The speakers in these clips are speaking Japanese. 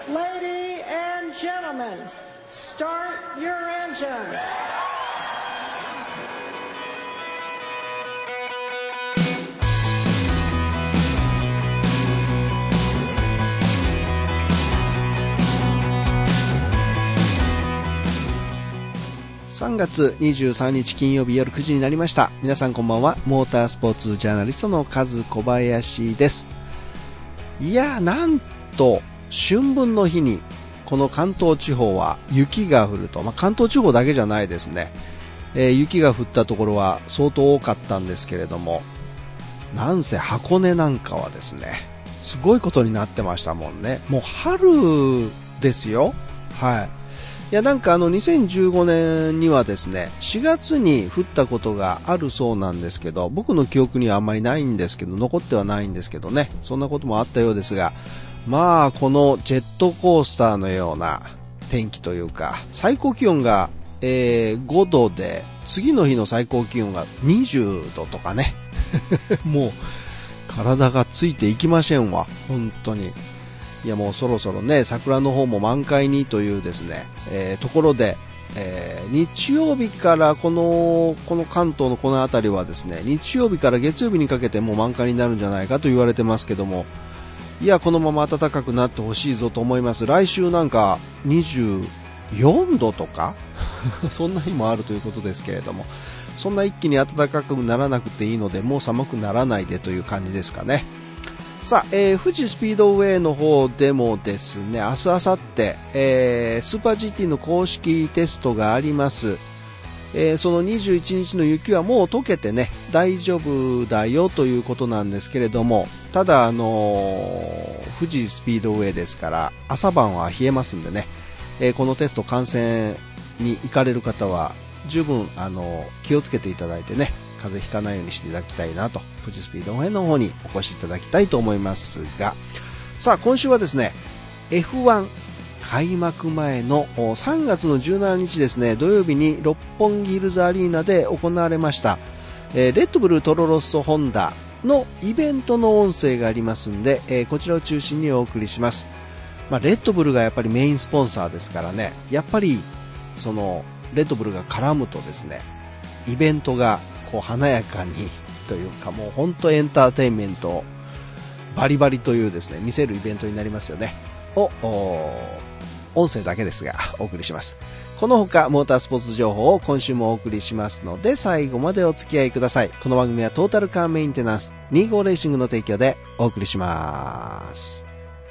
Ladies and gentlemen, start your engines. 3月23日金曜日夜9時になりました。皆さんこんばんは。モータースポーツジャーナリストのカズ小林です。いや、なんと春分の日にこの関東地方は雪が降ると、関東地方だけじゃないですね、雪が降ったところは相当多かったんですけれども、なんせ箱根なんかはですね、すごいことになってましたもんね。もう春ですよ。はい。いや、なんか2015年にはですね、4月に降ったことがあるそうなんですけど、僕の記憶にはあんまりないんですけど、残ってはないんですけどね、そんなこともあったようですが、このジェットコースターのような天気というか、最高気温が、5度で、次の日の最高気温が20度とかね、もう体がついていきませんわ、本当に。いや、もうそろそろね、桜の方も満開にというですね、ところで、日曜日からこの関東のこの辺りはですね、日曜日から月曜日にかけてもう満開になるんじゃないかと言われてますけども、いや、このまま暖かくなってほしいぞと思います。来週なんか24度とかそんな日もあるということですけれども、そんな一気に暖かくならなくていいので、もう寒くならないでという感じですかね。さあ、富士スピードウェイの方でもですね、明日明後日、スーパー GT の公式テストがあります。その21日の雪はもう溶けてね、大丈夫だよということなんですけれども、ただ富士スピードウェイですから朝晩は冷えますんでね、このテスト観戦に行かれる方は十分気をつけていただいてね、風邪ひかないようにしていただきたいなと、富士スピードウェイの方にお越しいただきたいと思いますが、さあ今週はですね、 F1 開幕前の3月の17日ですね、土曜日に六本木ヒルズアリーナで行われました、レッドブルトロロッソホンダのイベントの音声がありますんで、こちらを中心にお送りします。レッドブルがやっぱりメインスポンサーですからね、やっぱりそのレッドブルが絡むとですね、イベントがこう華やかにというか、もう本当エンターテインメントバリバリというですね、見せるイベントになりますよね。音声だけですがお送りします。この他モータースポーツ情報を今週もお送りしますので、最後までお付き合いください。この番組はトータルカーメンテナンス25レーシングの提供でお送りします。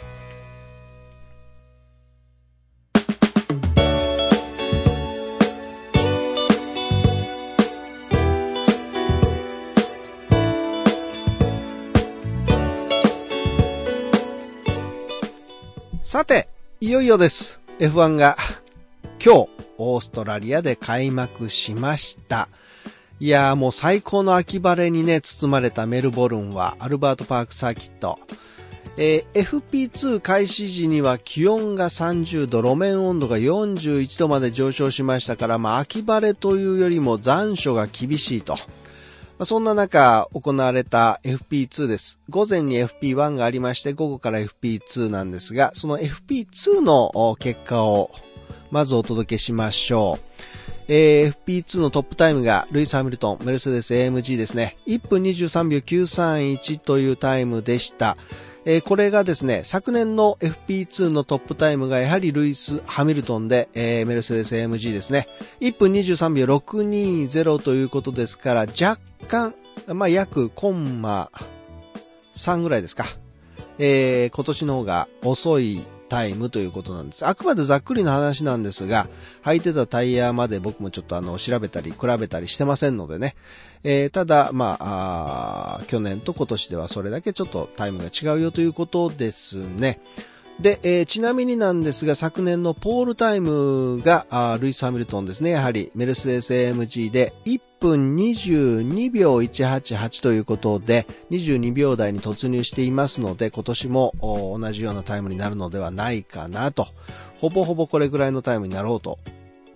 さて、いよいよです。F1 が今日オーストラリアで開幕しました。いやー、もう最高の秋晴れにね包まれたメルボルンはアルバートパークサーキット、FP2 開始時には気温が30度、路面温度が41度まで上昇しましたから、秋晴れというよりも残暑が厳しいと、そんな中行われた FP2 です。午前に FP1 がありまして、午後から FP2 なんですが、その FP2 の結果をまずお届けしましょう。FP2 のトップタイムがルイス・ハミルトン、メルセデス AMG ですね。1分23秒931というタイムでした。これがですね、昨年の FP2 のトップタイムがやはりルイス・ハミルトンで、メルセデス AMG ですね。1分23秒620ということですから、若干、約コンマ3ぐらいですか。今年の方が遅いタイムということなんです。あくまでざっくりの話なんですが、履いてたタイヤまで僕もちょっと調べたり比べたりしてませんのでね。ただ、去年と今年ではそれだけちょっとタイムが違うよということですね。で、ちなみになんですが、昨年のポールタイムがルイス・ハミルトンですね。やはりメルセデス AMG で1分22秒188ということで、22秒台に突入していますので、今年も同じようなタイムになるのではないかなと。ほぼほぼこれぐらいのタイムになろうと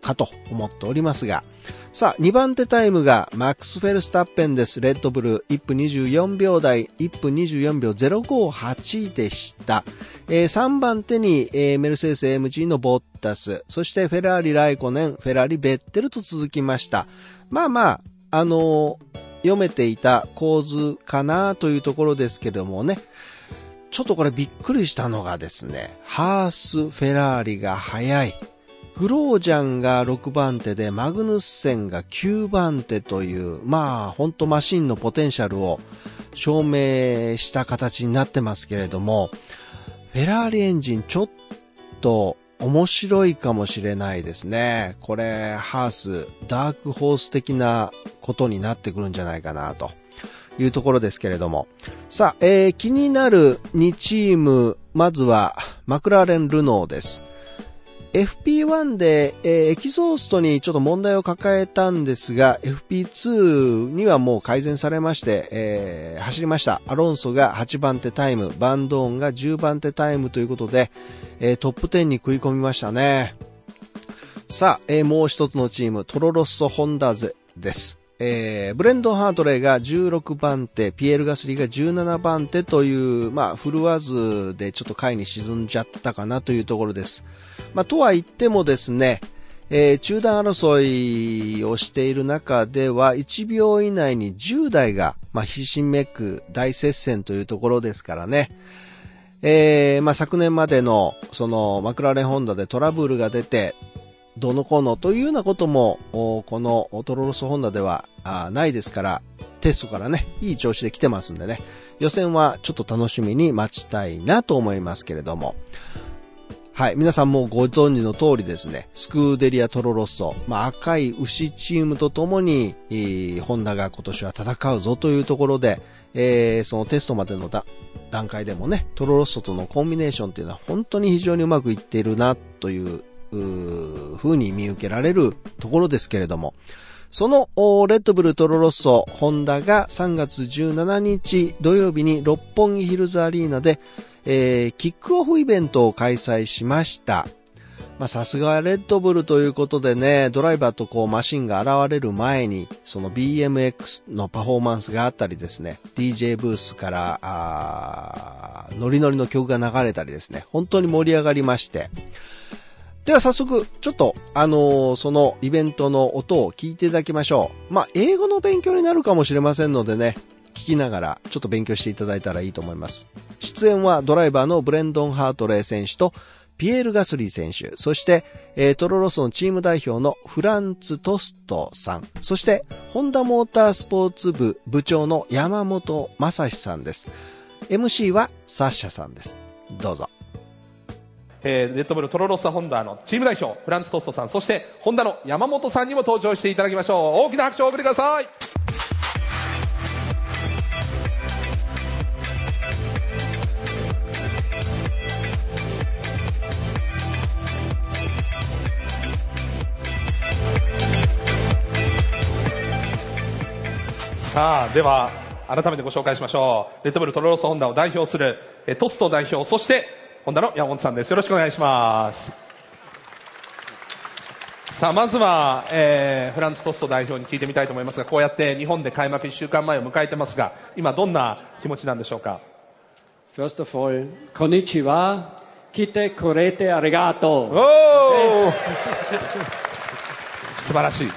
かと思っておりますが、さあ2番手タイムがマックス・フェルスタッペンです。レッドブル1分24秒台、1分24秒058でした。3番手に、メルセデス AMG のボッタス、そしてフェラーリライコネン、フェラーリベッテルと続きました。まあまあ読めていた構図かなというところですけどもね、ちょっとこれびっくりしたのがですね、ハース、フェラーリが速い。グロージャンが6番手でマグヌッセンが9番手という、まあ本当マシンのポテンシャルを証明した形になってますけれども、フェラーリエンジンちょっと面白いかもしれないですね。これハースダークホース的なことになってくるんじゃないかなというところですけれども、さあ、気になる2チーム、まずはマクラーレン・ルノーです。FP1 で、エキゾーストにちょっと問題を抱えたんですが、FP2 にはもう改善されまして、走りました。アロンソが8番手タイム、バンドーンが10番手タイムということで、トップ10に食い込みましたね。さあ、もう一つのチーム、トロロッソホンダゼです。ブレンドン・ハートレーが16番手、ピエール・ガスリーが17番手という、まあ、振るわずでちょっと下位に沈んじゃったかなというところです。まあ、とは言ってもですね、中断争いをしている中では、1秒以内に10台が、まあ、ひしめく大接戦というところですからね。まあ、昨年までの、その、マクラーレン・ホンダでトラブルが出て、どのこのというようなこともこのトロロソホンダではないですから、テストからねいい調子で来てますんでね、予選はちょっと楽しみに待ちたいなと思いますけれども、はい、皆さんもご存知の通りですね、スクーデリアトロロッソ、まあ、赤い牛チームとともに、ホンダが今年は戦うぞというところで、そのテストまでの段階でもね、トロロッソとのコンビネーションっていうのは本当に非常にうまくいっているなという風に見受けられるところですけれども、そのレッドブルトロロッソホンダが3月17日土曜日に六本木ヒルズアリーナで、キックオフイベントを開催しました。まあさすがレッドブルということでね、ドライバーとこうマシンが現れる前にその BMX のパフォーマンスがあったりですね、 DJ ブースからノリノリの曲が流れたりですね、本当に盛り上がりまして、では早速ちょっとそのイベントの音を聞いていただきましょう。まあ英語の勉強になるかもしれませんのでね、聞きながらちょっと勉強していただいたらいいと思います。出演はドライバーのブレンドン・ハートレー選手とピエール・ガスリー選手、そして、トロロッソのチーム代表のフランツ・トストさん、そしてホンダモータースポーツ部部長の山本正史さんです。 MC はサッシャさんです。どうぞ。 レッドブルトロロッソホンダのチーム代表フランツ・トストさん、そしてホンダの山本さんにも登場していただきましょう。大きな拍手をお送りください。さあ、では改めてご紹介しましょう。レッドブルトロロッソホンダを代表するトスト代表、そしてホンダの山本さんです。よろしくお願いします。さあ、まずは、フランツ・トスト代表に聞いてみたいと思いますが、こうやって日本で開幕1週間前を迎えてますが、今どんな気持ちなんでしょうか。 First of all, konnichiwa, kite korete arigato。 おー素晴らしい。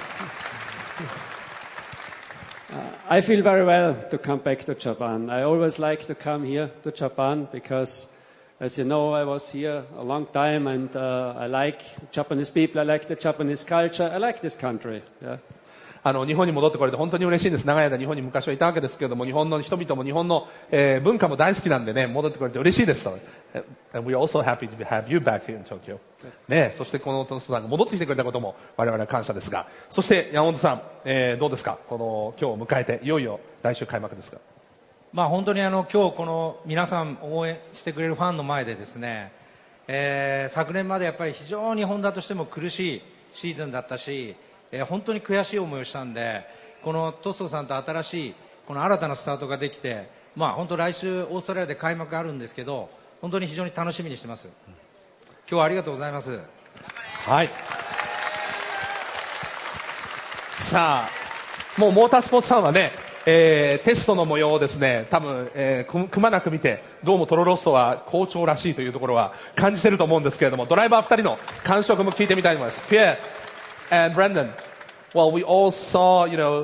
I feel very well to come back to Japan. I always like to come here to Japan because, as you know, I was here a long time and I like Japanese people, I like the Japanese culture, I like this country. Yeah. 日本に戻ってこれて本当に嬉しいです。長い間日本に昔はいたわけですけれども、日本の人々も日本の、文化も大好きなんでね、戻ってこれて嬉しいです。And we're also happy to have you back here in Tokyo. ね、そしてこのトストさんが戻ってきてくれたことも我々は感謝ですが、そして山本さん、どうですか、この今日を迎えていよいよ来週開幕ですが。 まあ本当に今日この皆さん応援してくれるファンの前でですね、昨年までやっぱり非常にホンダとしても苦しいシーズンだったし、本当に悔しい思いをしたんで、このトストさんと新しいこの新たなスタートができて、まあ本当来週オーストラリアで開幕があるんですけど、本当に非常に楽しみにしてます。今日はありがとうございます。 はい。 さあ、もうモータースポーツさんはね、テストの模様をですね、多分、くまなく見て、どうもトロロッソは好調らしいというところは感じていると思うんですけれども、ドライバー2人の感触も聞いてみたいと思います。Pierre and Brendan, well, we all saw,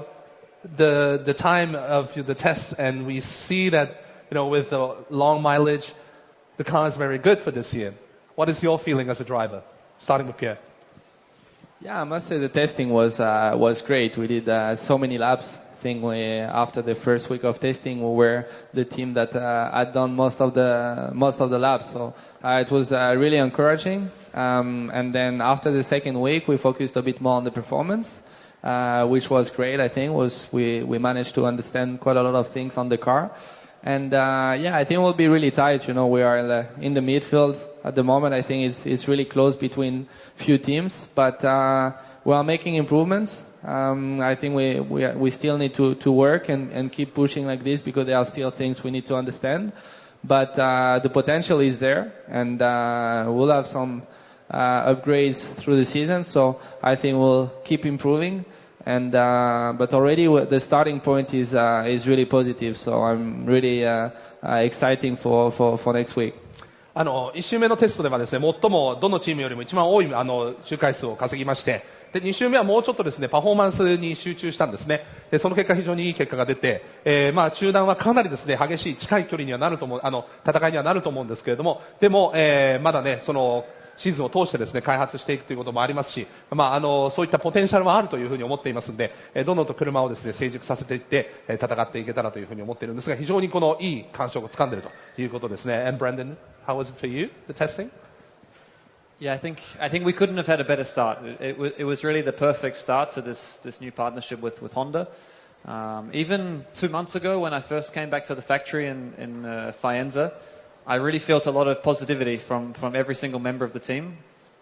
the time of the test, and we see that, with the long mileage, the car is very good for this year. What is your feeling as a driver? Starting with Pierre. Yeah, I must say the testing was great. We did so many laps. I think after the first week of testing, we were the team that had done most of the laps. So it was really encouraging. And then after the second week, we focused a bit more on the performance, which was great. I think we managed to understand quite a lot of things on the car. And I think we'll be really tight. We are in the midfield at the moment. I think it's really close between few teams, but we are making improvements. I think we still need to work and keep pushing like this because there are still things we need to understand. But the potential is there, and we'll have some upgrades through the season. So I think we'll keep improving. And but already the starting point is really positive. So I'm really exciting for next week. 1周目のテストではですね、最もどのチームよりも一番多い周回数を稼ぎまして、で2周目はもうちょっとですねパフォーマンスに集中したんですね。でその結果非常にいい結果が出て、中断はかなりですね激しい近い距離にはなると思う戦いにはなると思うんですけれども、でも、まだねそのシーズンを通してですね開発していくということもありますし、そういったポテンシャルはあるというふうに思っていますので、どんどんと車をですね成熟させていって戦っていけたらというふうに思っているんですが、非常にこのいい感触をつかんでいるということですね。And Brendan, how was it for you, the testing? Yeah, I think we couldn't have had a better start. It was really the perfect start to this new partnership with Honda. Even 2 months ago, when I first came back to the factory in Faenza, I really felt a lot of positivity from every single member of the team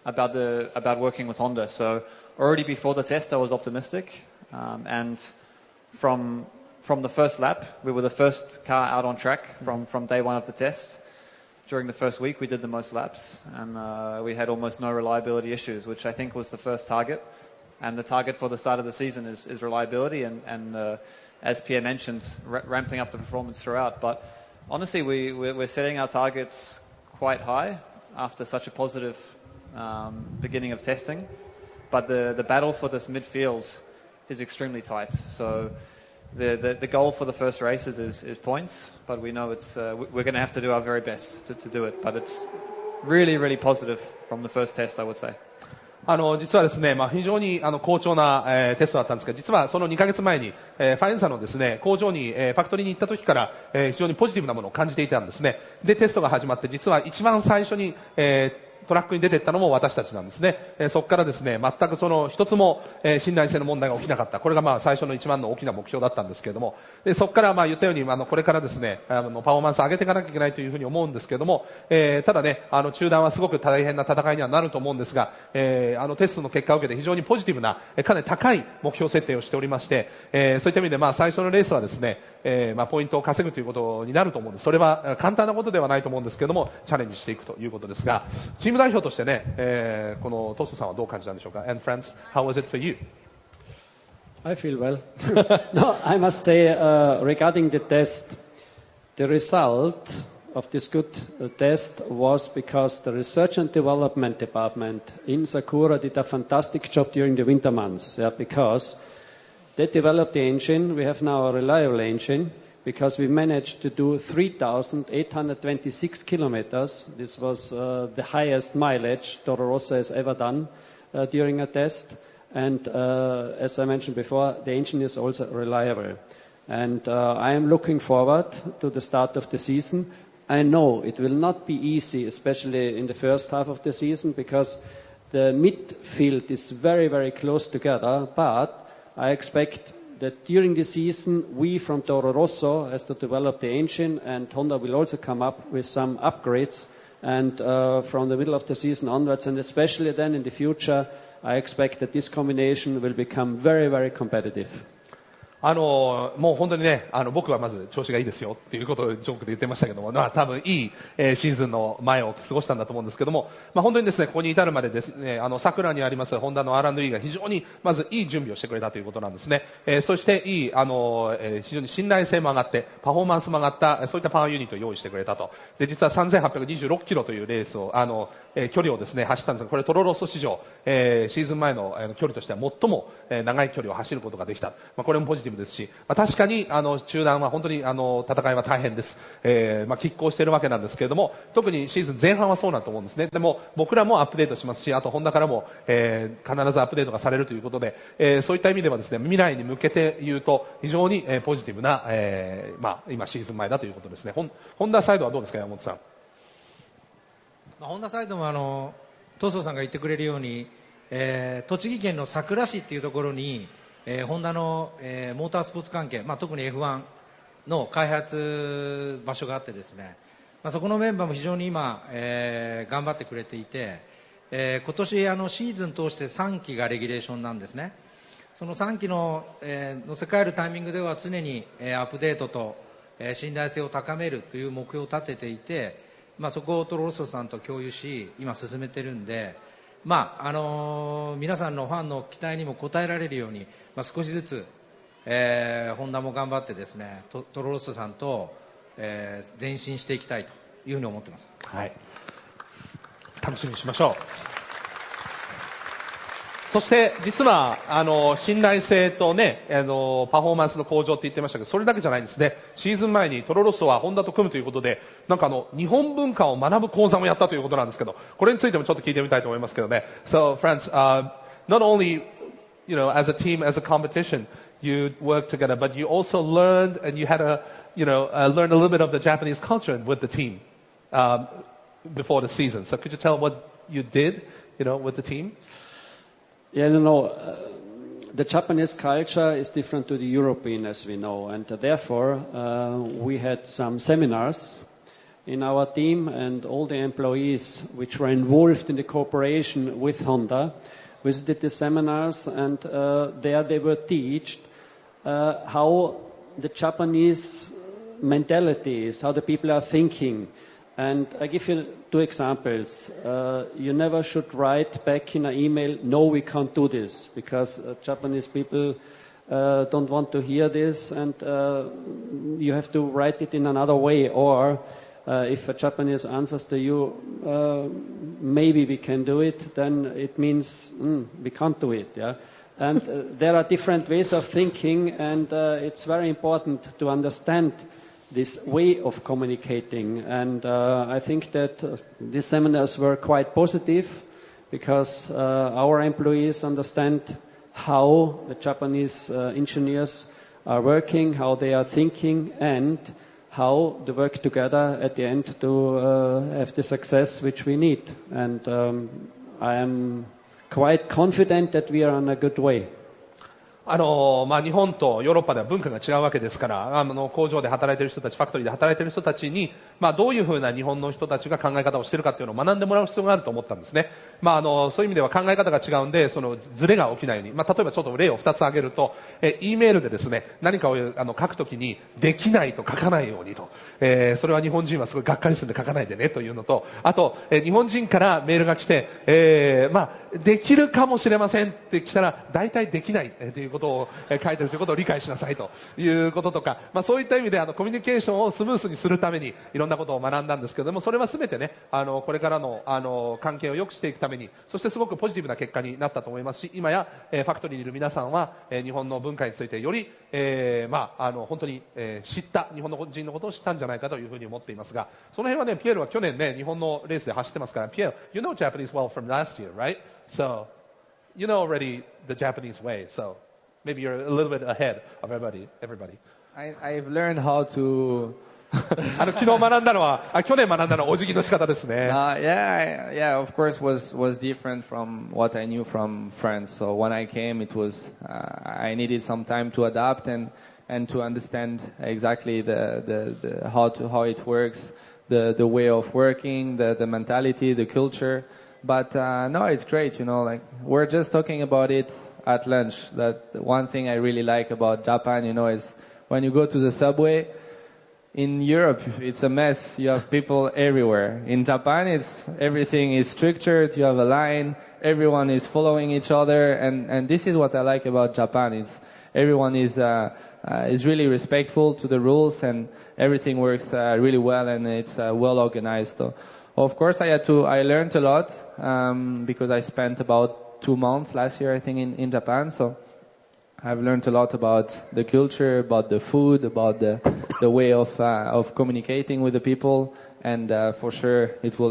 about working with Honda. So already before the test, I was optimistic, and from the first lap, we were the first car out on track from day one of the test. During the first week, we did the most laps, and we had almost no reliability issues, which I think was the first target. And the target for the start of the season is reliability, and as Pierre mentioned, ramping up the performance throughout. But honestly, we're setting our targets quite high after such a positive beginning of testing. But the battle for this midfield is extremely tight. So the goal for the first races is points, but we know we're going to have to do our very best to do it. But it's really, really positive from the first test, I would say. 実はですね、非常に好調な、テストだったんですが、実はその2ヶ月前に、ファエンサのですね工場に、ファクトリーに行った時から、非常にポジティブなものを感じていたんですね。でテストが始まって、実は一番最初に、トラックに出ていったのも私たちなんですね。そこからですね全くその一つも、信頼性の問題が起きなかった。これが最初の一番の大きな目標だったんですけれども、でそこから言ったようにこれからですねパフォーマンスを上げていかなきゃいけないというふうに思うんですけれども、ただね中断はすごく大変な戦いにはなると思うんですが、テストの結果を受けて非常にポジティブなかなり高い目標設定をしておりまして、そういった意味で最初のレースはですね、ポイントを稼ぐということになると思うんです。それは簡単なことではないと思うんですけれども、チャレンジしていくということですが、チーム代表としてね、このトスさんはどう感じたんでしょうか。 And friends, how was it for you? I feel well. No, I must say, regarding the test, the result of this good test was because the research and development department in Sakura did a fantastic job during the winter months. Yeah, because they developed the engine. We have now a reliable engine because we managed to do 3,826 kilometers. This was the highest mileage Toro Rosso has ever done during a test. And as I mentioned before, the engine is also reliable. And I am looking forward to the start of the season. I know it will not be easy, especially in the first half of the season, because the midfield is very, very close together. But I expect that during the season, we from Toro Rosso has to develop the engine, and Honda will also come up with some upgrades. And from the middle of the season onwards, and especially then in the future, I expect that this combination will become very, very competitive. もう本当にね、僕はまず調子がいいですよっていうことをジョークで言ってましたけども、多分いい、シーズンの前を過ごしたんだと思うんですけども、本当にですね、ここに至るまでですね、桜にありますホンダの R&E が非常にまずいい準備をしてくれたということなんですね。そしていい、非常に信頼性も上がって、パフォーマンスも上がった、そういったパワーユニットを用意してくれたと。で、実は3826キロというレースを、距離をですね、走ったんですが、これトロロッソ史上、シーズン前の、距離としては最も、長い距離を走ることができた。これもポジティブですし、確かに中断は本当に戦いは大変です。拮抗しているわけなんですけれども、特にシーズン前半はそうだと思うんですね。でも僕らもアップデートしますし、あとホンダからも、必ずアップデートがされるということで、そういった意味ではですね、未来に向けて言うと非常に、ポジティブな、今シーズン前だということですね。ホンダサイドはどうですか、山本さん。 ホンダサイドもトソさんが言ってくれるように、栃木県のさくら市っていうところに、ホンダの、モータースポーツ関係、特に F1 の開発場所があってですね、そこのメンバーも非常に今、頑張ってくれていて、今年シーズン通して3期がレギュレーションなんですね。その3期の、乗せ替えるタイミングでは常に、アップデートと、信頼性を高めるという目標を立てていて、そこをトロロッソさんと共有し今進めてるんで、皆さんのファンの期待にも応えられるように、少しずつ、ホンダも頑張ってですね、トロロッソさんと、前進していきたいというふうに思ってます。 はい、楽しみにしましょう。そして実は信頼性とね、パフォーマンスの向上って言ってましたけど、それだけじゃないんですね。シーズン前にトロロッソはホンダと組むということで、なんか日本文化を学ぶ講座もやったということなんですけど、これについてもちょっと聞いてみたいと思いますけどね。So friends, not only as a team, as a competition, you worked together, but you also learned and you had learned a little bit of the Japanese culture with the team before the season. So could you tell what you did, with the team? Yeah, the Japanese culture is different to the European, as we know, and therefore we had some seminars in our team, and all the employees which were involved in the cooperation with Honda visited the seminars, and there they were taught how the Japanese mentality is, how the people are thinking. And I give you 2 examples. You never should write back in an email, no, we can't do this, because Japanese people don't want to hear this, and you have to write it in another way. Or if a Japanese answers to you, maybe we can do it, then it means we can't do it. Yeah? And there are different ways of thinking, and it's very important to understand this way of communicating, and I think that these seminars were quite positive, because our employees understand how the Japanese engineers are working, how they are thinking, and how they work together at the end to have the success which we need. And I am quite confident that we are on a good way. 日本とヨーロッパでは文化が違うわけですから、工場で働いている人たち、ファクトリーで働いている人たちに、どういうふうな日本の人たちが考え方をしているかというのを学んでもらう必要があると思ったんですね。そういう意味では考え方が違うんで、そのズレが起きないように、例えばちょっと例を2つ挙げると、E メールでですね、何かを書くときにできないと書かないようにと、それは日本人はすごいがっかりするんで書かないでねというのと、あと、日本人からメールが来て、できるかもしれませんって来たら、大体できないということを書いているということを理解しなさいということとか、そういった意味でコミュニケーションをスムースにするためにいろんなことを学んだんですけれども、それは全てね、これからの関係を良くしていくために、そしてすごくポジティブな結果になったと思いますし、今やファクトリーにいる皆さんは日本の文化についてより本当に知った、日本の人のことを知ったんじゃないかというふうに思っていますが、その辺はね、ピエールは去年ね、日本のレースで走ってますから、ピエール、you know Japanese well from last year, right? So you know already the Japanese way, so maybe you're a little bit ahead of everybody. I've learned how to 昨日学んだのは、去年学んだのはお辞儀の仕方ですね。 Yeah, of course was different from what I knew from France. So when I came, it was I needed some time to adapt and to understand exactly the how it works, the way of working, the mentality, the culture. But no, it's great. Like we're just talking about it at lunch that one thing I really like about Japan, is when you go to the subway. In Europe, it's a mess. You have people everywhere. In Japan, everything is structured. You have a line. Everyone is following each other, and this is what I like about Japan. Everyone is really respectful to the rules, and everything works really well, and it's well organized. So, of course, I learned a lot because I spent about 2 months last year, I think, in Japan. So I've learned a lot about the culture, about the food, about the way of communicating with the people, and for sure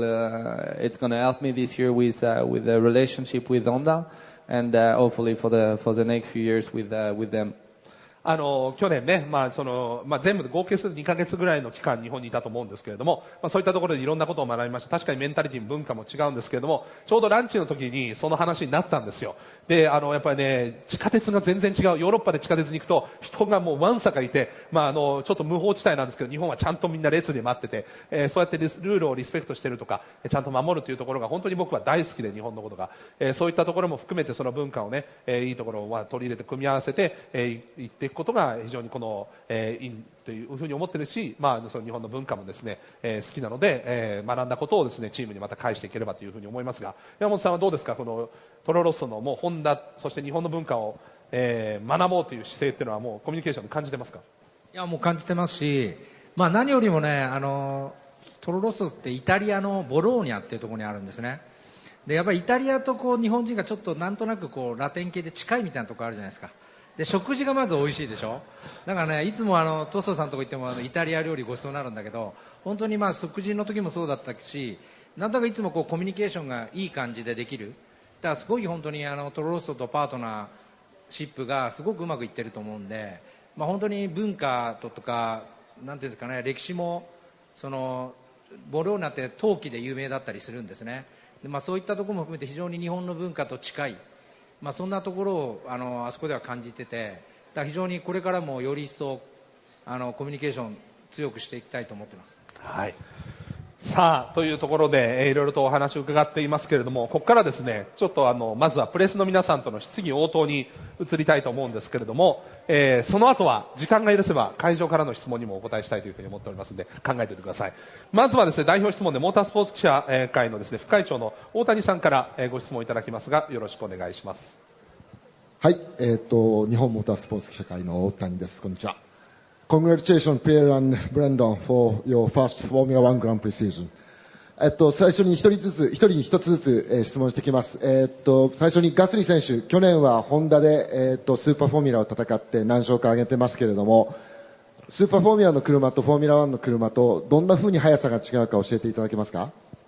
it's going to help me this year with the relationship with Honda, and hopefully for the next few years with them. 去年ね、全部で合計すると2ヶ月ぐらいの期間日本にいたと思うんですけれども、そういったところでいろんなことを学びました。確かにメンタリティも文化も違うんですけれども、ちょうどランチの時にその話になったんですよ。で、やっぱりね、地下鉄が全然違う。ヨーロッパで地下鉄に行くと人がもうわんさかいて、ちょっと無法地帯なんですけど、日本はちゃんとみんな列で待ってて、そうやってルールをリスペクトしているとか、ちゃんと守るというところが本当に僕は大好きで、日本のことが。そういったところも含めてその文化をね、いいところを取り入れて組み合わせて、いっていくことが非常にこの、いいというふうに思ってるし、その日本の文化もですね、好きなので、学んだことをですね、チームにまた返していければというふうに思いますが、山本さんはどうですか、このトロロッソのもうホンダ、そして日本の文化を、学ぼうという姿勢っていうのはもうコミュニケーションで感じてますか？ いや、もう感じてますし、何よりもね、トロロッソってイタリアのボローニャっていうところにあるんですね。で、やっぱりイタリアと日本人がちょっとなんとなくラテン系で近いみたいなところあるじゃないですか。で、食事がまず美味しいでしょ。だからね、いつもトッソさんのとこ行ってもイタリア料理ごちそうになるんだけど、本当に食事の時もそうだったし、なんだかいつもコミュニケーションがいい感じでできる。だからすごい本当にトロロッソとパートナーシップがすごくうまくいってると思うんで、本当に文化とかなんていうんですかね、歴史もボローナって陶器で有名だったりするんですね。で、そういったところも含めて非常に日本の文化と近い、そんなところをあそこでは感じてて、だから非常にこれからもより一層コミュニケーション強くしていきたいと思ってます。 はい。さあというところで、いろいろとお話を伺っていますけれども、ここからですね、ちょっとまずはプレスの皆さんとの質疑応答に移りたいと思うんですけれども、その後は時間が許せば会場からの質問にもお答えしたいというふうに思っておりますので、考えておいてください。まずはですね、代表質問でモータースポーツ記者会のですね、副会長の大谷さんからご質問いただきますが、よろしくお願いします。 はい、日本モータースポーツ記者会の大谷です。こんにちは。Congratulations, Pierre and Brandon, for your first Formula One Grand Prix season. 最初に一人に一つずつ、質問してきます。最初にガスリー選手、去年はホンダで、スーパーフォーミュラを戦って何勝か上げてますけれども、スーパーフォーミュラの車とフォーミュラ1の車とどんな風に速さが違うか教えていただけますか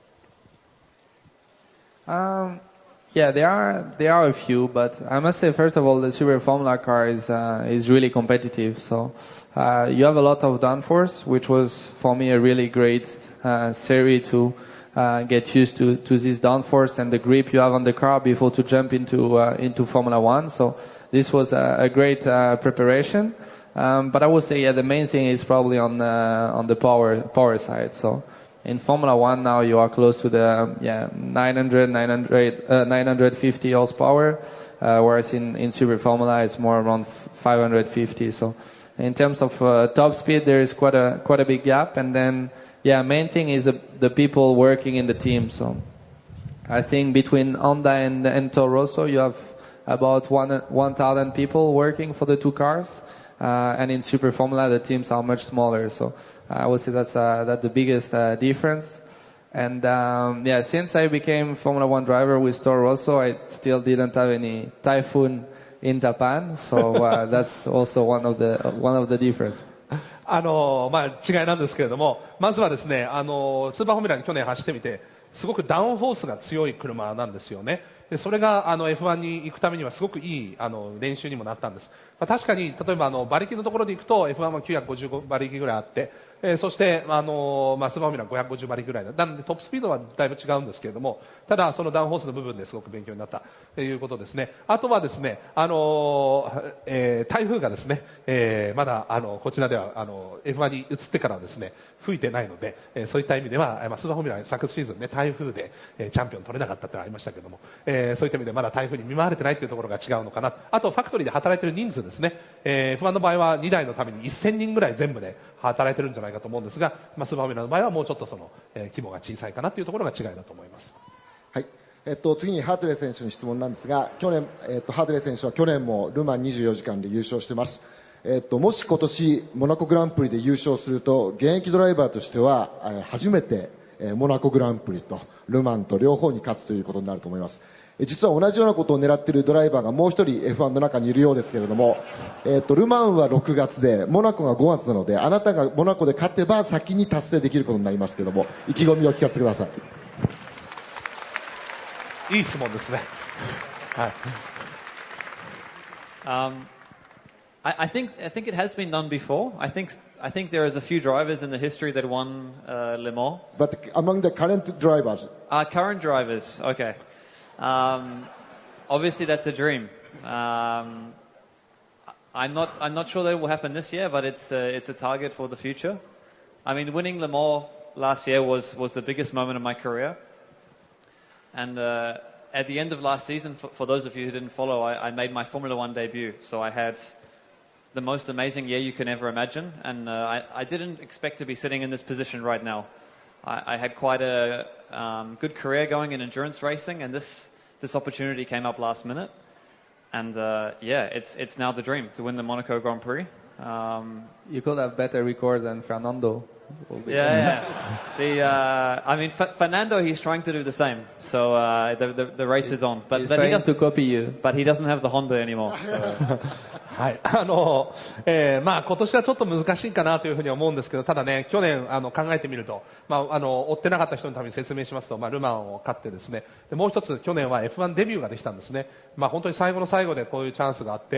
？Yeah, there are a few, but I must say, first of all, the Super Formula car is really competitive. So you have a lot of downforce, which was for me a really great series to get used to this downforce and the grip you have on the car before to jump into Formula One. So this was a great preparation. But I would say, yeah, the main thing is probably on the power side. So in Formula One now you are close to the 950 horsepower, whereas in Super Formula it's more around 550. So in terms of top speed there is quite a big gap, and then main thing is the people working in the team. So I think between Honda and Toro Rosso you have about 1,000 people working for the two cars. And in Super Formula the teams are much smaller, so I would say that's the biggest difference. And since I became Formula One driver with Toro Rosso, I still didn't have any typhoon in Japan, so that's also one of the difference. 違いなんですけれども、まずはですね、スーパーフォーミュラに去年走ってみてすごくダウンフォースが強い車なんですよね。でそれがF1 に行くためにはすごくいい練習にもなったんです。確かに例えば馬力のところで行くと F1 は955馬力ぐらいあって、そしてスーパーフォーミュラは550馬力ぐらいなのでトップスピードはだいぶ違うんですけれども、ただそのダウンフォースの部分ですごく勉強になったということですね。あとはですね、台風がですね、まだこちらではF1 に移ってからはですね吹いてないので、そういった意味では、スーパーフォーミュラ昨シーズンね、台風で、チャンピオン取れなかったってのがありましたけども、そういった意味でまだ台風に見舞われてないというところが違うのかな。あとファクトリーで働いている人数ですね、F1 の場合は2台のために1000人ぐらい全部で働いてるんじゃないかと思うんですが、スーパーフォーミュラの場合はもうちょっとその、規模が小さいかなというところが違いだと思います。 はい。次にハートレー選手の質問なんですが、去年、ハートレー選手は去年もルマン24時間で優勝してます。もし今年モナコグランプリで優勝すると、現役ドライバーとしては初めてモナコグランプリとルマンと両方に勝つということになると思います。実は同じようなことを狙っているドライバーがもう一人 F1 の中にいるようですけれども、ルマンは6月でモナコが5月なので、あなたがモナコで勝てば先に達成できることになりますけれども、意気込みを聞かせてください。 いい質問ですね。はい。 I think it has been done before. I think there is a few drivers in the history that won Le Mans. But among the current drivers, current drivers, okay. Obviously, that's a dream. I'm not sure that it will happen this year, but it's a target for the future. I mean, winning Le Mans last year was the biggest moment of my career. And at the end of last season, for those of you who didn't follow, I made my Formula One debut. So I had the most amazing year you can ever imagine. And I didn't expect to be sitting in this position right now. I had quite a good career going in endurance racing, and this opportunity came up last minute. And it's now the dream to win the Monaco Grand Prix. You could have better record than Fernando. Yeah. I mean, Fernando, he's trying to do the same. So the race is on. He's trying to copy you. But he doesn't have the Honda anymore. So. はい、まあ今年はちょっと難しいかなというふうに思うんですけど、ただね、去年考えてみると、追ってなかった人のために説明しますと、ルマンを勝ってですね、でもう一つ去年は F1 デビューができたんですね。本当に最後の最後でこういうチャンスがあって、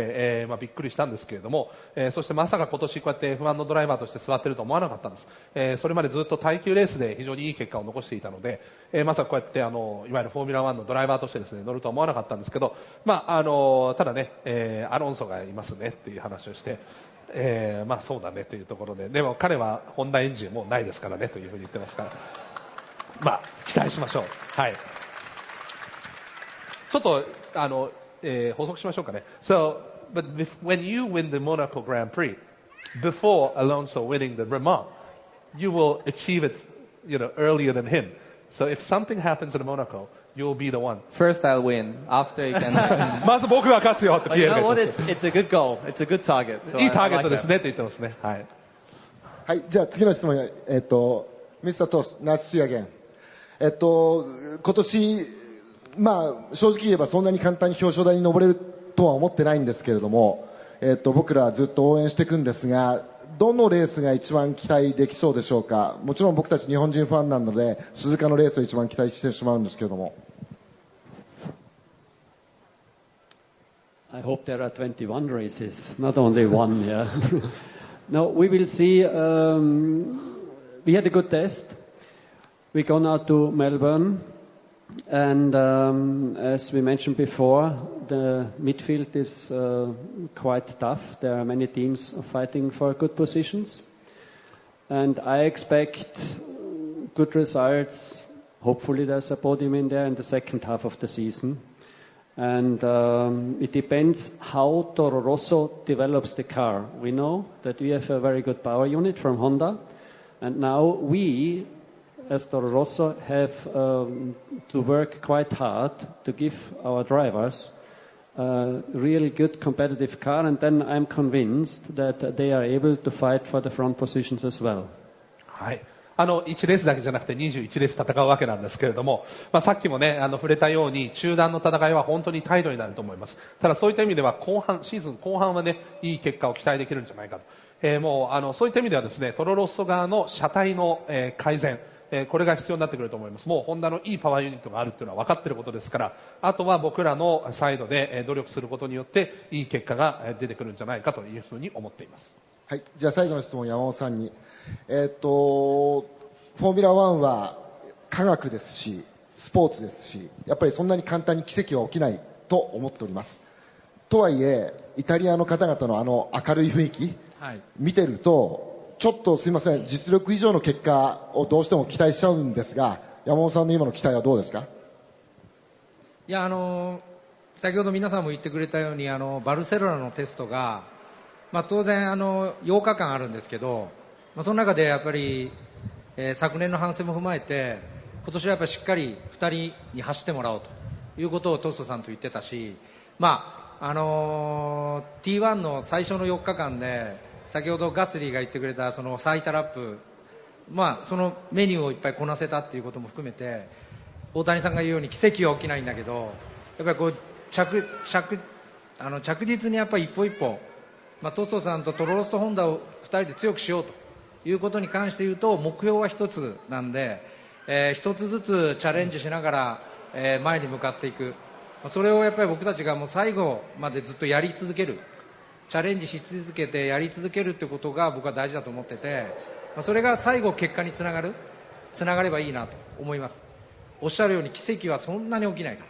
びっくりしたんですけれども、そしてまさか今年こうやって F1 のドライバーとして座っていると思わなかったんです。それまでずっと耐久レースで非常にいい結果を残していたので、まさかこうやっていわゆるフォーミュラ1のドライバーとしてですね、乗るとは思わなかったんですけど、ただね、アロンソがいますねっていう話をして、そうだねというところで、でも彼はホンダエンジンもうないですからねというふうに言ってますから、期待しましょう。はい。ちょっと補足しましょうかね。So, but when you win the Monaco Grand Prix, before Alonso winning the Le Mans, you will achieve it, earlier than him. So if something happens in Monaco, you'll be the one. First I'll win. After you can. まず僕が勝つよってピエールが言ってます。 You know what? It's a good goal. It's a good target. So いいターゲットですねって言ってますね。はい。 はい、じゃあ次の質問、ミスタートース、ナイスシーアゲン。今年、正直言えばそんなに簡単に表彰台に上れるとは思ってないんですけれども、僕らずっと応援していくんですが、どのレースが一番期待できそうでしょうか。もちろん僕たち日本人ファンなので鈴鹿のレースを一番期待してしまうんですけれども。 I hope there are 21 races, not only one. Yeah. No, we will see. We had a good test. We gone out to Melbourne, and as we mentioned before, the midfield is quite tough. There are many teams fighting for good positions, and I expect good results. Hopefully, there's a podium in there in the second half of the season. And it depends how Toro Rosso develops the car. We know that we have a very good power unit from Honda, and now we, as Toro Rosso, have to work quite hard to give our drivers a really good competitive car, and then I'm convinced that they are able to fight for the front positions as well. はい。1レースだけじゃなくて21レース戦うわけなんですけれども、さっきもね、触れたように中断の戦いは本当に態度になると思います。ただそういった意味ではシーズン後半はね、いい結果を期待できるんじゃないかと。もうそういった意味ではですね、トロロッソ側の車体の、改善、これが必要になってくると思います。もうホンダのいいパワーユニットがあるっていうのは分かっていることですから、あとは僕らのサイドで努力することによっていい結果が出てくるんじゃないかというふうに思っています。 はい、じゃあ最後の質問、山本さんに。フォーミュラ1は科学ですしスポーツですし、やっぱりそんなに簡単に奇跡は起きないと思っております。とはいえイタリアの方々の明るい雰囲気、見てるとちょっとすいません、実力以上の結果をどうしても期待しちゃうんですが、山本さんの今の期待はどうですか？ いや先ほど皆さんも言ってくれたようにバルセロナのテストが、当然8日間あるんですけど、その中でやっぱり、昨年の反省も踏まえて今年はやっぱりしっかり2人に走ってもらおうということをトストさんと言ってたし、T1 の最初の4日間で先ほどガスリーが言ってくれたその最多ラップ、そのメニューをいっぱいこなせたっていうことも含めて、大谷さんが言うように奇跡は起きないんだけど、やっぱりこう着実にやっぱり一歩一歩、トストさんとトロロストホンダを2人で強くしようということに関して言うと、目標は一つなんで、一つずつチャレンジしながら、前に向かっていく、それをやっぱり僕たちがもう最後までずっとやり続ける、チャレンジし続けてやり続けるってことが僕は大事だと思ってて、それが最後結果につながればいいなと思います。おっしゃるように奇跡はそんなに起きないから、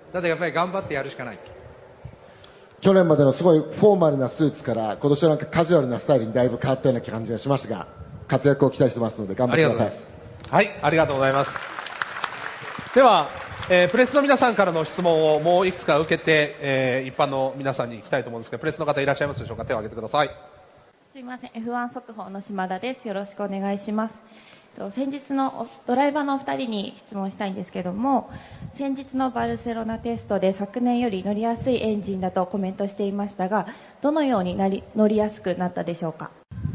ただやっぱり頑張ってやるしかない。 去年までのすごいフォーマルなスーツから今年はなんかカジュアルなスタイルにだいぶ変わったような感じがしましたが、活躍を期待してますので頑張ってください。 はい、ありがとうございます。では、プレスの皆さんからの質問をもういくつか受けて、一般の皆さんに行きたいと思うんですが、プレスの方いらっしゃいますでしょうか。手を挙げてください。 すいません、 F1 速報の島田です。よろしくお願いします。先日のドライバーのお二人に質問したいんですけども、先日のバルセロナテストで昨年より乗りやすいエンジンだとコメントしていましたが、どのように乗りやすくなったでしょうか？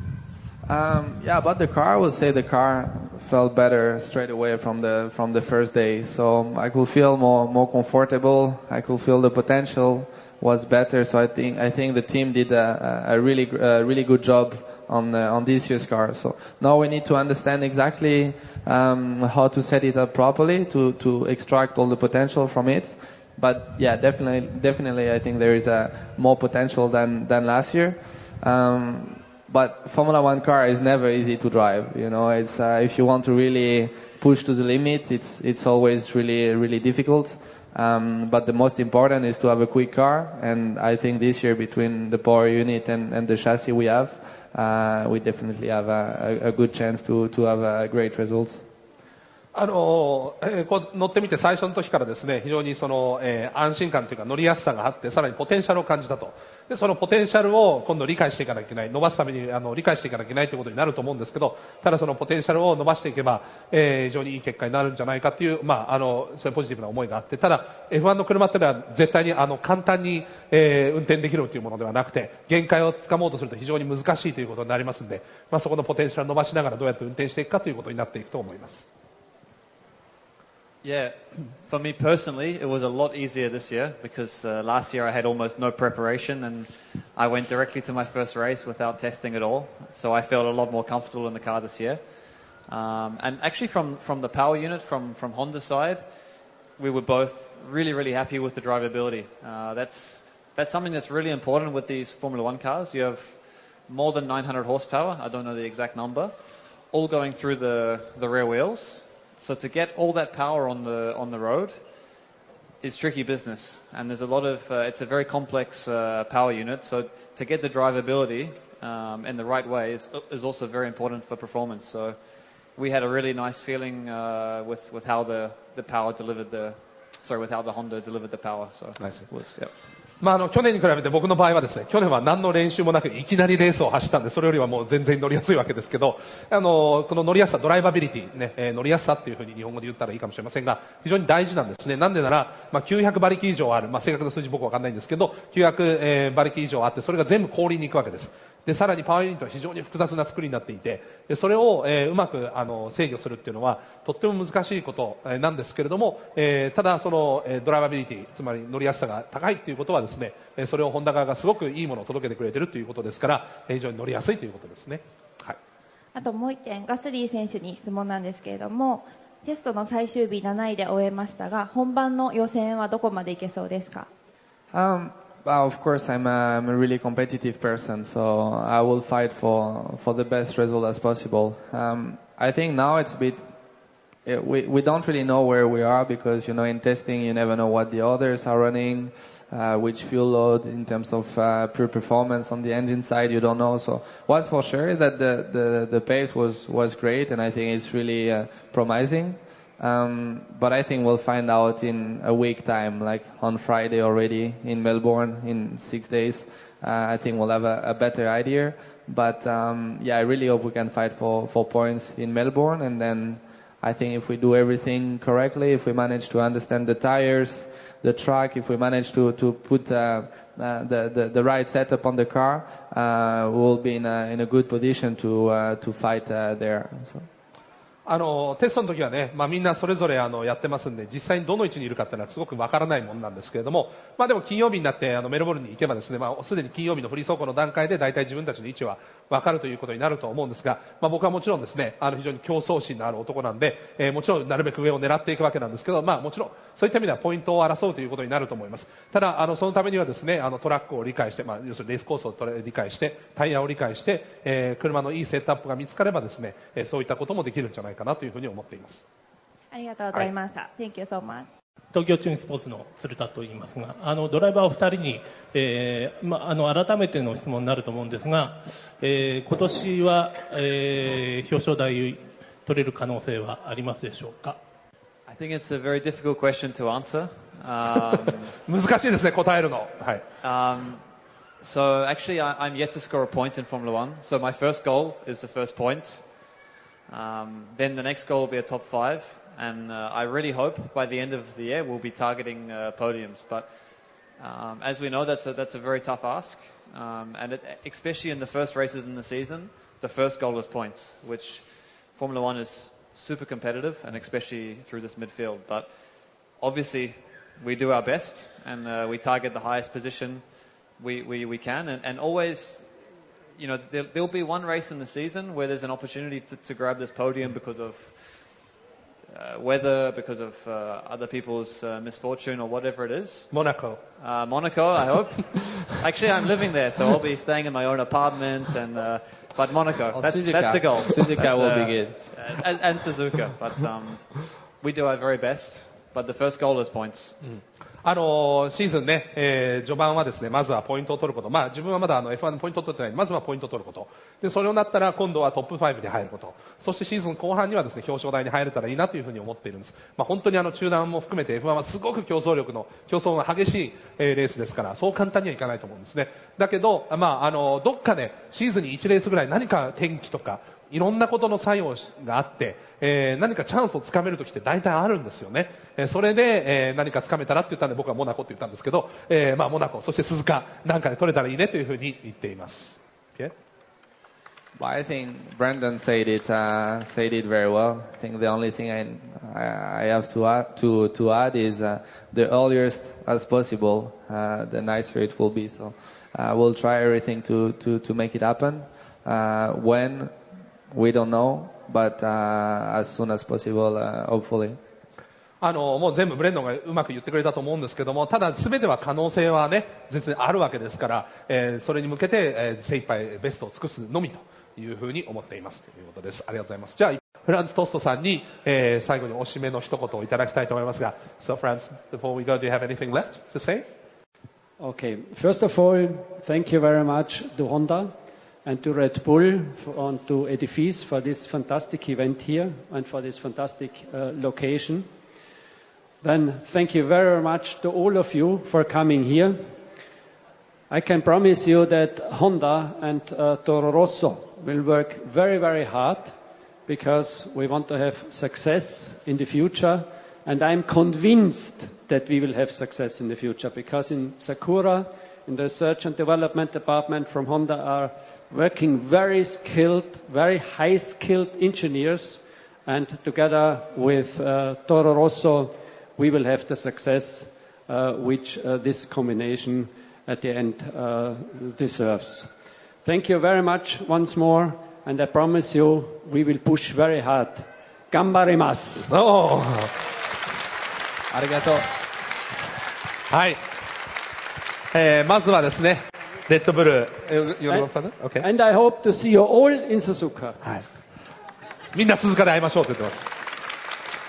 Yeah, about the car, I would say the car felt better straight away from the first day. So I could feel more comfortable. I could feel the potential was better. So I think the team did a really good job on this year's car. So now we need to understand exactly how to set it up properly to extract all the potential from it. But yeah, definitely I think there is more potential than last year. But Formula One car is never easy to drive. You know, it's if you want to really push to the limit, it's always really difficult. But the most important is to have a quick car, and I think this year between the power unit and the chassis we have, we definitely have a good chance to have great results. こう乗ってみて最初の時からですね、非常にその、安心感というか乗りやすさがあって、さらにポテンシャルを感じたと。でそのポテンシャルを今度理解していかなきゃいけない、伸ばすために理解していかなきゃいけないということになると思うんですけど、ただそのポテンシャルを伸ばしていけば、非常にいい結果になるんじゃないかという、そういうポジティブな思いがあって、ただ F1 の車っていうのは絶対に簡単に、運転できるというものではなくて、限界をつかもうとすると非常に難しいということになりますので、そこのポテンシャルを伸ばしながらどうやって運転していくかということになっていくと思います。 Yeah, for me personally, it was a lot easier this year because last year I had almost no preparation and I went directly to my first race without testing at all. So I felt a lot more comfortable in the car this year. And actually from the power unit, from Honda's side, we were both really happy with the drivability. That's something that's really important with these Formula One cars. You have more than 900 horsepower, I don't know the exact number, all going through the rear wheels. So to get all that power on the road is tricky business, and there's a lot of it's a very complex power unit. So to get the drivability in the right way is also very important for performance. So we had a really nice feeling with how the power delivered with how the Honda delivered the power. So nice. It was, yeah. 去年に比べて僕の場合はですね、去年は何の練習もなくいきなりレースを走ったんで、それよりはもう全然乗りやすいわけですけど、この乗りやすさ、ドライバビリティね、乗りやすさっていうふうに日本語で言ったらいいかもしれませんが、非常に大事なんですね。なんでなら、900馬力以上ある、正確な数字僕わかんないんですけど、900馬力以上あって、それが全部氷に行くわけです。でさらにパワーユニットは非常に複雑な作りになっていて、でそれを、うまく制御するっていうのはとっても難しいことなんですけれども、ただそのドライバビリティ、つまり乗りやすさが高いということはですね、それをホンダ側がすごくいいものを届けてくれているということですから、非常に乗りやすいということですね。はい、 あともう一点、ガスリー選手に質問なんですけれども、テストの最終日7位で終えましたが、本番の予選はどこまでいけそうですか ？Well, of course, I'm a really competitive person, so I will fight for the best result as possible. I think now it's a bit we don't really know where we are because, you know, in testing you never know what the others are running, which fuel load in terms of pure performance on the engine side, you don't know. So what's for sure that the pace was great, and I think it's really promising. But I think we'll find out in a week time, like on Friday already in Melbourne in 6 days. I think we'll have a better idea. But yeah, I really hope we can fight for points in Melbourne, and then I think if we do everything correctly, if we manage to understand the tires, the track, if we manage to put the right setup on the car, we'll be in a good position to fight there. So. テストの時はね、みんなそれぞれやってますんで、実際にどの位置にいるかっていうのはすごくわからないものなんですけれども、でも金曜日になってメルボルンに行けばですね、すでに金曜日のフリー走行の段階で大体自分たちの位置はわかるということになると思うんですが、僕はもちろんですね、非常に競争心のある男なんで、もちろんなるべく上を狙っていくわけなんですけど、もちろんそういった意味ではポイントを争うということになると思います。ただそのためにはですね、トラックを理解して、要するにレースコースを理解して、タイヤを理解して、車のいいセットアップが見つかればですね、そういったこともできるんじゃないかなというふうに思っています。 ありがとうございました。Thank you so much. 東京チューンスポーツの鶴田と言いますが、ドライバーお二人に、改めての質問になると思うんですが、今年は、表彰台取れる可能性はありますでしょうか。 I think it's a very difficult question to answer. 難しいですね、答えるの。はい。 So actually, I'm yet to score a point in Formula One. So my first goal is the first point. Then the next goal will be a top 5, and I really hope by the end of the year we'll be targeting podiums. But as we know, that's a very tough ask, and especially in the first races in the season, the first goal is points, which Formula One is super competitive, and especially through this midfield. But obviously, we do our best, and we target the highest position we can, and always. You know, there'll be one race in the season where there's an opportunity to grab this podium because of weather, because of other people's misfortune or whatever it is. Monaco. Monaco, I hope. Actually, I'm living there, so I'll be staying in my own apartment. But Monaco, that's the goal. Suzuka will be good. And Suzuka, but we do our very best. But the first goal is points. シーズンね、序盤はですね、まずはポイントを取ること。自分はまだF1 のポイントを取ってないので、まずはポイントを取ること。で、それをなったら今度はトップ5に入ること。そしてシーズン後半にはですね、表彰台に入れたらいいなというふうに思っているんです。本当に中断も含めて F1 はすごく競争が激しいレースですから、そう簡単にはいかないと思うんですね。だけど、どっかでシーズンに1レースぐらい何か天気とか、いろんなことの作用があって、何かチャンスをつかめるときって大体あるんですよね。それで、何かつかめたらって言ったんで僕はモナコって言ったんですけど、モナコそして鈴鹿なんかで取れたらいいねというふうに言っています。Okay? Well, I think Brandon said it very well. I think the only thing I have to add is the earliest as possible, the nicer it will be. So we'll try everything to make it happen. When we don't know, but as soon as possible, hopefully. もう全部ブレンドンがうまく言ってくれたと思うんですけども、ただ全ては可能性はね、全然あるわけですから、それに向けて、精一杯ベストを尽くすのみというふうに思っていますということです。ありがとうございます。じゃあフランツ・トストさんに、最後にお締めの一言をいただきたいと思いますが、So Franz, before we go, do you have anything left to say? Okay, first of all, thank you very much to Honda and to Red Bull and to Edifice for this fantastic event here and for this fantastic location. Then thank you very much to all of you for coming here. I can promise you that Honda and Toro Rosso will work very, very hard because we want to have success in the future, and I'm convinced that we will have success in the future because in Sakura, in the research and development department from Honda are working very skilled, very high-skilled engineers, and together with Toro Rosso, we will have the success which this combination at the end deserves. Thank you very much once more, and I promise you we will push very hard. Gambarimasu! Oh. ありがとう。 はい。まずはですね、レッドブル、okay. And I hope to see you all in Suzuka. はい。みんな鈴鹿で会いましょうと言ってます。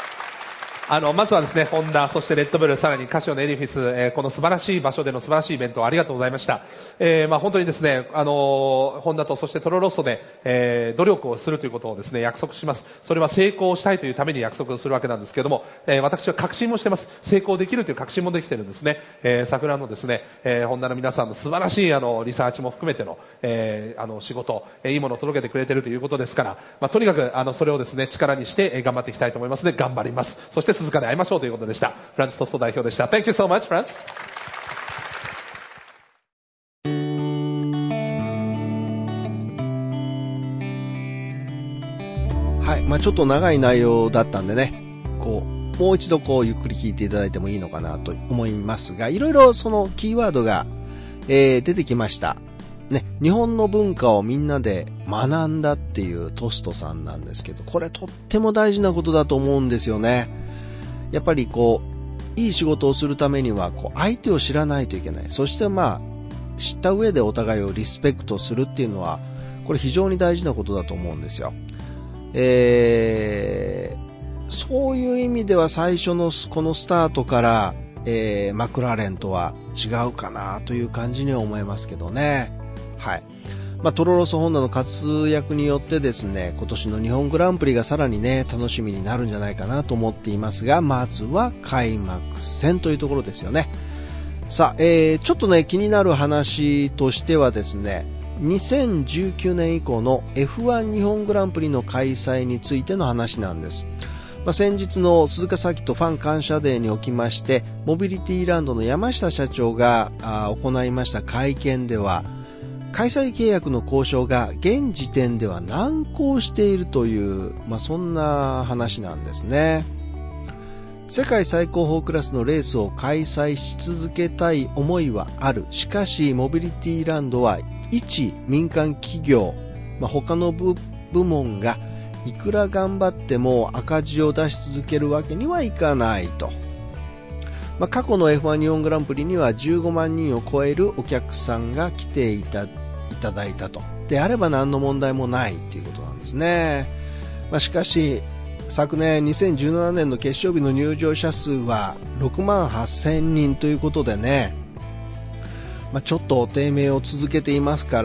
まずはですね、ホンダ、そしてレッドブル、さらにカシオのエディフィス、この素晴らしい場所での素晴らしいイベントをありがとうございました。本当にですね、ホンダとそしてトロロッソで、努力をするということをですね、約束します。それは成功したいというために約束をするわけなんですけれども、私は確信もしてます。成功できるという確信もできているんですね。桜のですね、ホンダの皆さんの素晴らしいリサーチも含めての、仕事、いいものを届けてくれているということですから、とにかくそれをですね、力にして、頑張っていきたいと思いますので、頑張ります。そして鈴鹿で会いましょうということでした。フランツトスト代表でした。Thank you so much, フランツ。 はい、ちょっと長い内容だったんでね、もう一度ゆっくり聞いていただいてもいいのかなと思いますが、いろいろそのキーワードが、出てきました。ね、日本の文化をみんなで学んだっていうトストさんなんですけど、これとっても大事なことだと思うんですよね。やっぱりいい仕事をするためには相手を知らないといけない。そして知った上でお互いをリスペクトするっていうのは、これ非常に大事なことだと思うんですよ。そういう意味では最初のこのスタートから、マクラーレンとは違うかなという感じには思いますけどね。はい。トロロソホンダの活躍によってですね、今年の日本グランプリがさらにね、楽しみになるんじゃないかなと思っていますが、まずは開幕戦というところですよね。さあ、ちょっとね、気になる話としてはですね、2019年以降の F1 日本グランプリの開催についての話なんです。先日の鈴鹿サーキットファン感謝デーにおきまして、モビリティランドの山下社長が行いました会見では、開催契約の交渉が現時点では難航しているという、そんな話なんですね。世界最高峰クラスのレースを開催し続けたい思いはある。しかし、モビリティランドは一民間企業、他の部門がいくら頑張っても赤字を出し続けるわけにはいかないと。過去の F1 日本グランプリには15万人を超えるお客さんが来ていただいたと。であれば何の問題もないということなんですね。しかし、昨年2017年の決勝日の入場者数は6万8000人ということでね、ちょっと低迷を続けていますから、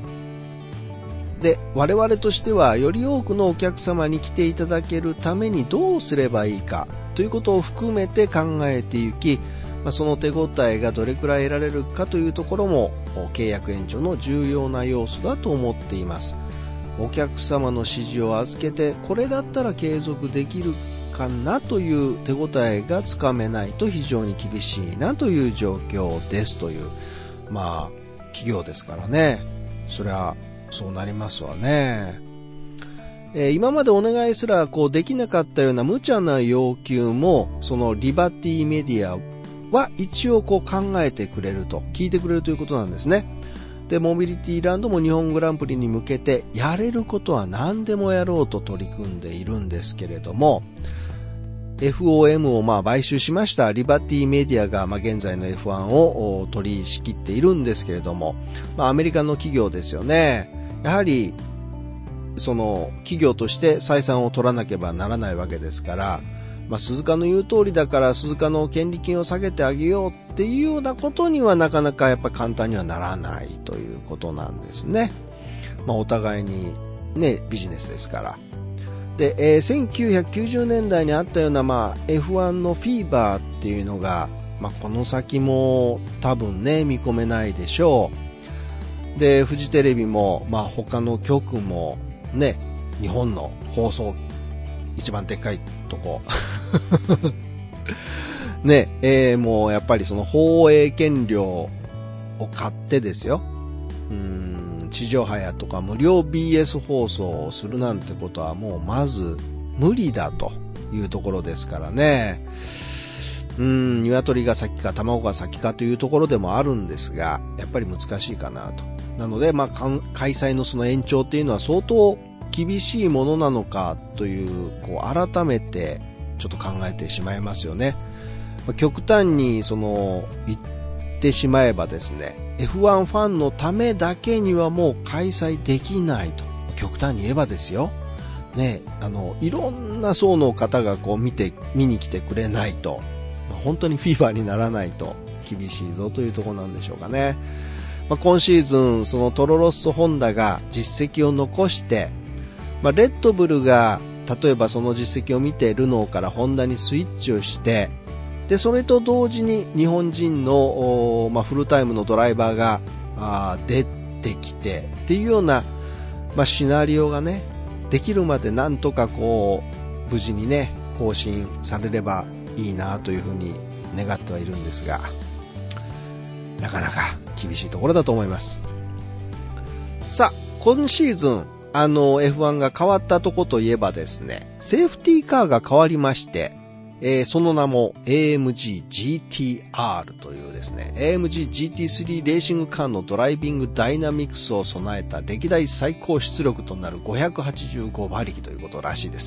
で、我々としてはより多くのお客様に来ていただけるためにどうすればいいかということを含めて考えていき、その手応えがどれくらい得られるかというところも契約延長の重要な要素だと思っています。お客様の指示を預けて、これだったら継続できるかなという手応えがつかめないと非常に厳しいなという状況ですという、企業ですからね。そりゃそうなりますわね。今までお願いすらできなかったような無茶な要求も、そのリバティメディアは一応考えてくれると、聞いてくれるということなんですね。で、モビリティランドも日本グランプリに向けてやれることは何でもやろうと取り組んでいるんですけれども、FOM を買収しましたリバティメディアが現在の F1 を取り仕切っているんですけれども、アメリカの企業ですよね。やはりその企業として採算を取らなければならないわけですから、鈴鹿の言う通りだから鈴鹿の権利金を下げてあげようっていうようなことにはなかなかやっぱ簡単にはならないということなんですね。お互いにね、ビジネスですから。で、1990年代にあったようなF1 のフィーバーっていうのが、この先も多分ね、見込めないでしょう。で、フジテレビも他の局もね、日本の放送一番でっかいとこね、もうやっぱりその放映権料を買ってですよ、地上波やとか無料 BS 放送をするなんてことはもうまず無理だというところですからね。鶏が先か卵が先かというところでもあるんですが、やっぱり難しいかなと。なので、開催のその延長っていうのは相当厳しいものなのかという、改めてちょっと考えてしまいますよね。極端に言ってしまえばですね、F1 ファンのためだけにはもう開催できないと。極端に言えばですよ。 ね、いろんな層の方がこう見に来てくれないと、本当にフィーバーにならないと厳しいぞというところなんでしょうかね。今シーズン、そのトロロッソホンダが実績を残して、レッドブルが例えばその実績を見てルノーからホンダにスイッチをして、でそれと同時に日本人の、フルタイムのドライバーが出てきてっていうような、シナリオがねできるまでなんとかこう無事にね更新されればいいなというふうに願ってはいるんですが、なかなか厳しいところだと思います。さあ、今シーズンF1 が変わったとこといえばですね、セーフティーカーが変わりまして、その名も AMG GTR というですね、AMG GT3 レーシングカーのドライビングダイナミクスを備えた歴代最高出力となる585馬力ということらしいです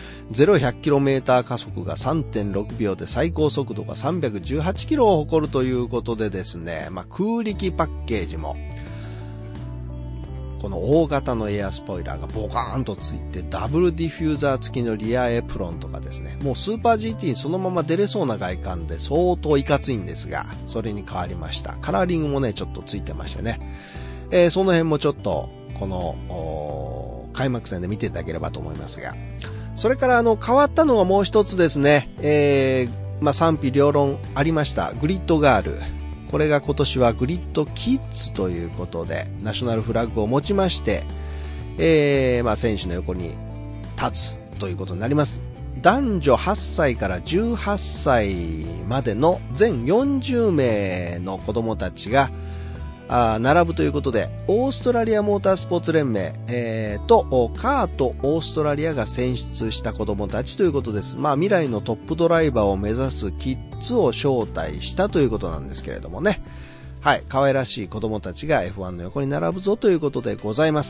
。0-100km 加速が 3.6 秒で最高速度が318キロを誇るということでですね、空力パッケージもこの大型のエアスポイラーがボカーンとついて、ダブルディフューザー付きのリアエプロンとかですね、もうスーパー GT にそのまま出れそうな外観で相当いかついんですが、それに変わりました。カラーリングもねちょっとついてましてね、その辺もちょっとこの開幕戦で見ていただければと思いますが、それから変わったのがもう一つですね、賛否両論ありましたグリッドガール、これが今年はグリッドキッズということでナショナルフラッグを持ちまして、選手の横に立つということになります。男女8歳から18歳までの全40名の子供たちが並ぶということで、オーストラリアモータースポーツ連盟、とカートオーストラリアが選出した子供たちということです。未来のトップドライバーを目指すキッズを招待したということなんですけれどもね。はい、可愛らしい子供たちが F1 の横に並ぶぞということでございます。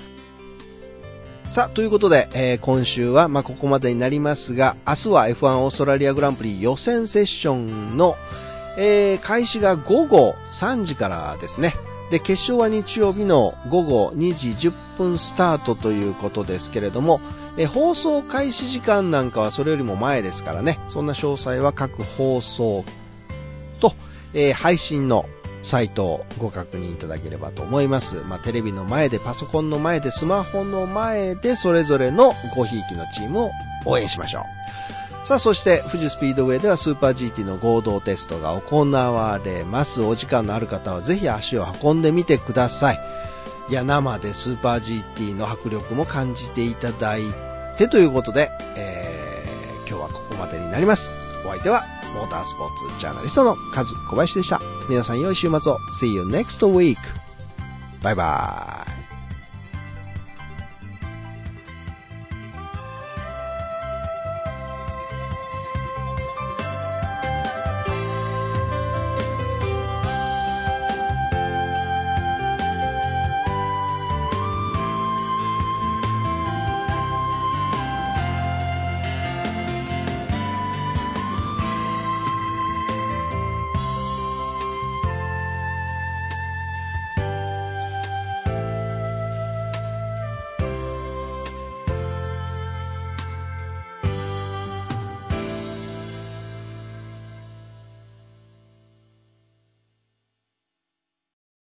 さあ、ということで、今週はここまでになりますが、明日は F1 オーストラリアグランプリ予選セッションの開始が午後3時からですね。で、決勝は日曜日の午後2時10分スタートということですけれども、放送開始時間なんかはそれよりも前ですからね、そんな詳細は各放送と、配信のサイトをご確認いただければと思います。テレビの前で、パソコンの前で、スマホの前で、それぞれのごひいきのチームを応援しましょう。さあ、そして富士スピードウェイではスーパー GT の合同テストが行われます。お時間のある方はぜひ足を運んでみてください。いや、生でスーパー GT の迫力も感じていただいてということで、今日はここまでになります。お相手はモータースポーツジャーナリストのカズ小林でした。皆さん良い週末を。See you next week. バイバイ。